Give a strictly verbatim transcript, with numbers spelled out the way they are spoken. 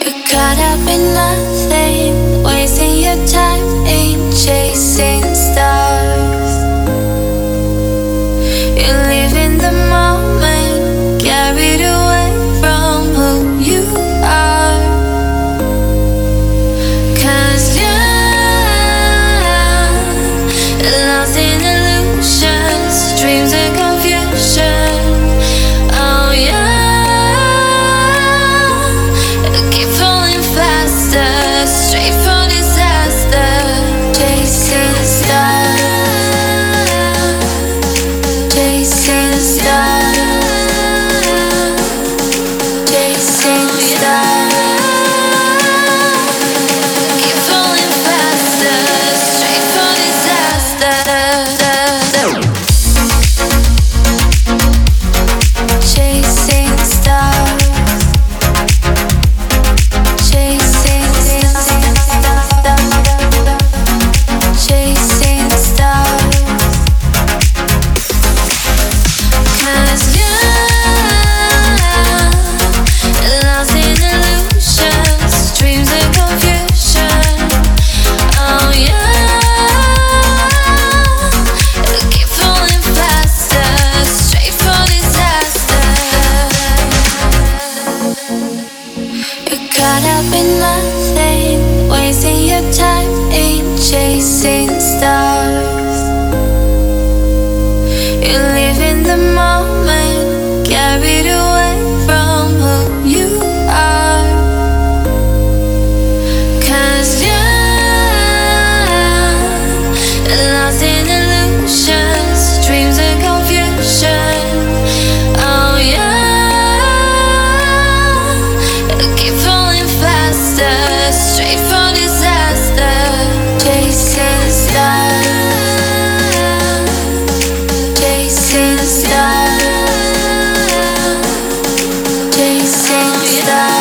Caught up in nothing, wasting your time, ain't chasing stars. You live in the moment, carried away from who you are. 'Cause you're lost in illusions, dreams and confusion. Oh yeah. Straight for disaster, chasing the stars, chasing the stars, chasing the stars. Keep falling faster, straight for disaster. Chasing the stars. Caught up in nothing, wasting your time, ain't chasing stars. You live in the moment, carried away from who you are. 'Cause you're lost in illusions, dreams and confusion. Oh yeah. Straight for disaster, chasing the stars, chasing the stars, chasing the stars.